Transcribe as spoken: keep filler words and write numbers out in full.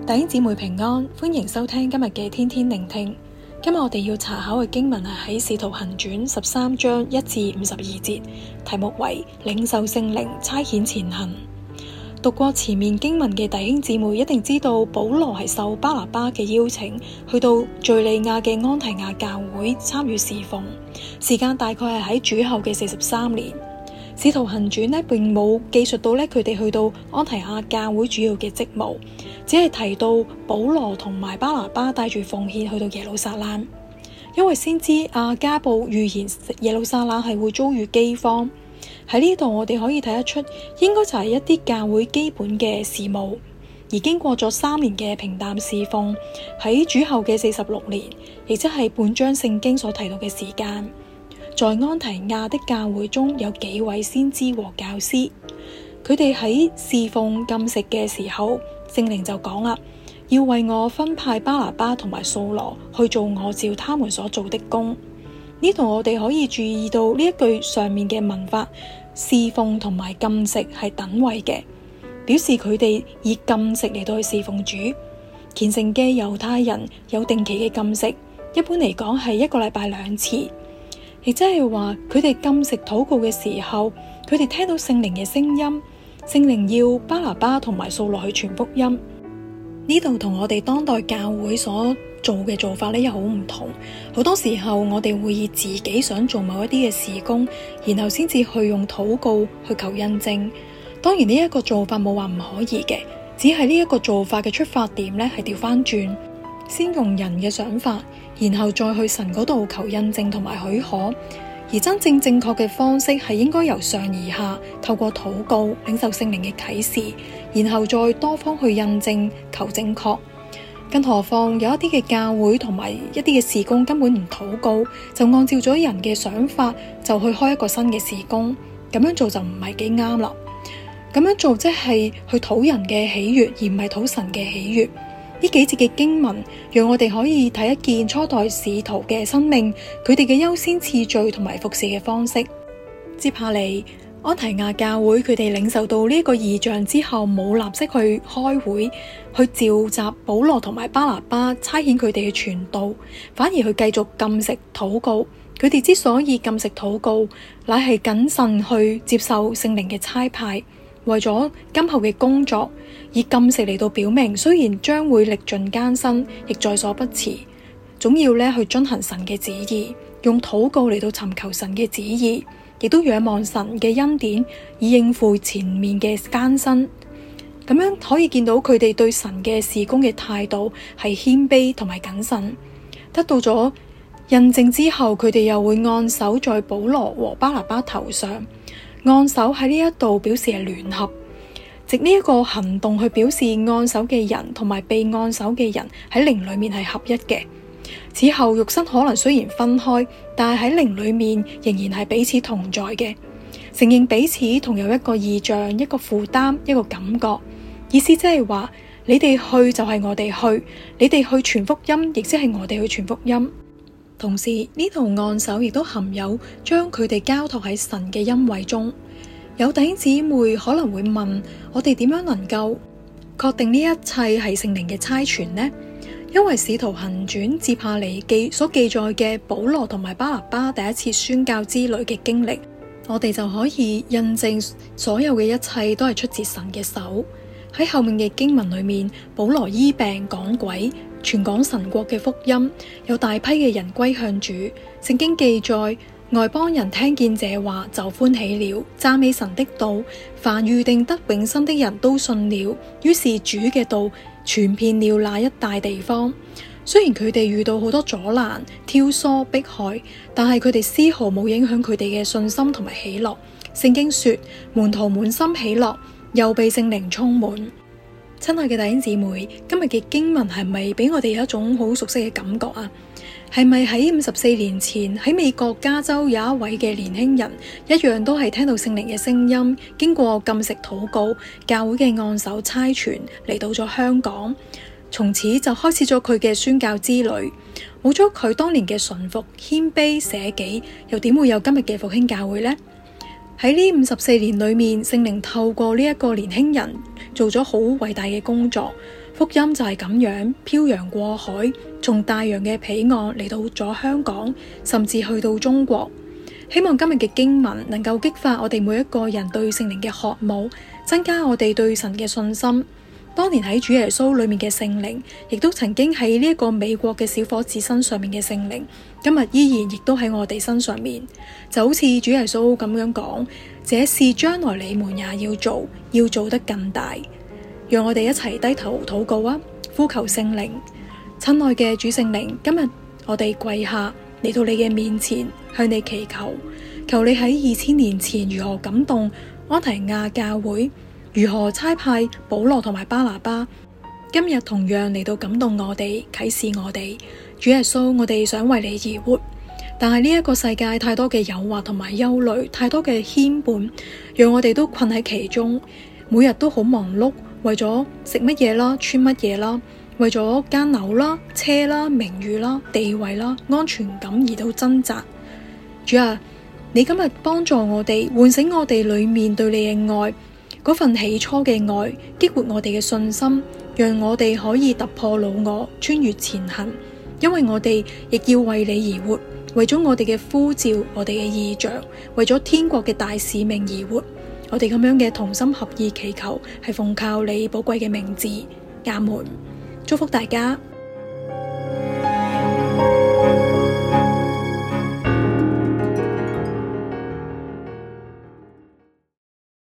弟兄姊妹平安，歡迎收聽今日嘅天天聆聽。今日我哋要查考嘅經文係喺《使徒行傳》十三章一至五十二節，題目為領受聖靈差遣前行。讀過前面經文嘅弟兄姊妹一定知道，保羅係受巴拿巴嘅邀請，去到敘利亞嘅安提亞教會參與侍奉，時間大概係喺主後嘅四十三年。使徒行傳呢並冇記述到呢佢哋去到安提亞教會主要嘅職務，只係提到保羅同埋巴拿巴帶住奉獻去到耶路撒冷，因為先知亞加布預言耶路撒冷係會遭遇饑荒。喺呢度我哋可以睇得出，應該就係一啲教會基本嘅事務。而經過咗三年嘅平淡侍奉，喺主後嘅四十六年，亦即係本章聖經所提到嘅時間，在安提亞的教會中有幾位先知和教師，佢哋喺侍奉禁食嘅時候，聖靈就講啦，要為我分派巴拿巴同埋掃羅去做我照他們所做的工。呢度我哋可以注意到呢一句上面嘅文法，侍奉同埋禁食係等位嘅，表示佢哋以禁食嚟到去侍奉主。虔誠嘅猶太人有定期嘅禁食，一般嚟講係一個禮拜兩次，亦即係話佢哋禁食禱告嘅時候，佢哋聽到聖靈嘅聲音，聖靈要巴拿巴同埋掃羅去傳福音。呢度同我哋當代教會所做嘅做法呢又好唔同。好多時候我哋會以自己想做某一啲嘅事工，然後先至去用禱告去求印證。當然呢一個做法冇話唔可以嘅，只係呢一個做法嘅出發點呢係調翻轉，先用人嘅想法，然後再去神嗰度求印證同埋許可。而真正正確嘅方式係應該由上而下，透過禱告領受聖靈嘅啟示，然後再多方去印證求正確。更何況有一啲嘅教會同埋一啲嘅事工根本唔禱告，就按照咗人嘅想法就去開一個新嘅事工，咁樣做就唔係幾啱啦。咁樣做即係去討人嘅喜悅，而唔係討神嘅喜悅。呢幾節嘅經文讓我哋可以睇一見初代使徒嘅生命，佢哋嘅優先次序同埋服侍嘅方式。接下嚟安提亞教會佢哋領受到呢個異象之後，冇立即去開會去召集保羅同埋巴拿巴差遣佢哋去傳道，反而去繼續禁食禱告。佢哋之所以禁食禱告，乃係謹慎去接受聖靈嘅差派，為咗今後嘅工作，以禁食嚟到表明，雖然將會歷盡艱辛，亦在所不辭，總要咧去遵行神嘅旨意，用禱告嚟到尋求神嘅旨意，亦都仰望神嘅恩典，以應付前面嘅艱辛。咁樣可以見到佢哋對神嘅事工嘅態度係謙卑同埋謹慎。得到咗印證之後，佢哋又會按手在保羅和巴拿巴頭上。按手喺呢一度表示係聯合，藉呢一個行動去表示按手嘅人同埋被按手嘅人喺靈裏面係合一嘅。此後肉身可能雖然分開，但係喺靈裏面仍然係彼此同在嘅，承認彼此同有一個異象、一個負擔、一個感覺。意思即係話，你哋去就係我哋去，你哋去傳福音，亦即係我哋去傳福音。同時呢度按手亦都含有將佢哋交託喺神嘅恩惠中。有弟兄姊妹可能會問，我哋點樣能夠確定呢一切係聖靈嘅差傳呢？因為使徒行傳接下嚟記所記載嘅保羅同埋巴拿巴第一次宣教之旅嘅經歷，我哋就可以印證所有嘅一切都係出自神嘅手。喺後面嘅經文裏面，保羅醫病趕鬼，傳講神國嘅福音，有大批嘅人歸向主。聖經記載，外邦人聽見這話就歡喜了，讚美神的道，凡預定得永生的人都信了。於是主嘅道傳遍了那一帶地方。雖然佢哋遇到好多阻攔、挑唆、迫害，但係佢哋絲毫冇影響佢哋嘅信心同埋喜樂。聖經說，門徒滿心喜樂，又被聖靈充滿。親愛嘅弟兄姊妹，今日嘅經文係咪俾我哋有一種好熟悉嘅感覺啊？係咪喺五十四年前喺美國加州有一位嘅年輕人，一樣都係聽到聖靈嘅聲音，經過禁食禱告，教會嘅按手差傳嚟到咗香港，從此就開始咗佢嘅宣教之旅。冇咗佢當年嘅順服、謙卑、捨己，又點會有今日嘅復興教會呢？喺呢五十四年裏面，聖靈透過呢一個年輕人做咗好偉大嘅工作， 福音就係咁樣漂洋過海，從大洋嘅彼岸嚟到咗香港，甚至去到中國。希望今日嘅經文能夠激發我哋每一個人對聖靈嘅渴慕，增加我哋對神嘅信心。當年喺主耶穌裏面嘅聖靈，亦都曾經喺呢一個美國嘅小伙子身上面嘅聖靈，今日依然亦都喺我哋身上面。就好似主耶穌咁樣講，這事將來你們也要做，要做得更大。讓我哋一齊低頭禱告啊！呼求聖靈，親愛嘅主聖靈，今日我哋跪下嚟到你嘅面前，向你祈求，求你喺二千年前如何感動安提亞教會，如何差派保羅同埋巴拿巴，今日同樣嚟到感動我哋，啟示我哋。主耶穌，我哋想為你而活，但係呢一個世界太多嘅誘惑同埋憂慮，太多嘅牽絆，讓我哋都困喺其中，每日都好忙碌，為咗食乜嘢啦，穿乜嘢啦，為咗間樓啦、車啦、名譽啦、地位啦、安全感而到掙扎。主啊，你今日幫助我哋，喚醒我哋裏面對你嘅愛，嗰份起初嘅愛，激活我哋嘅信心，讓我哋可以突破老我，穿越前行。因為我哋亦要為你而活，為咗我哋嘅呼召，我哋嘅異象，為咗天國嘅大使命而活。我哋咁樣嘅同心合意祈求，係奉靠你寶貴嘅名字。阿門。祝福大家。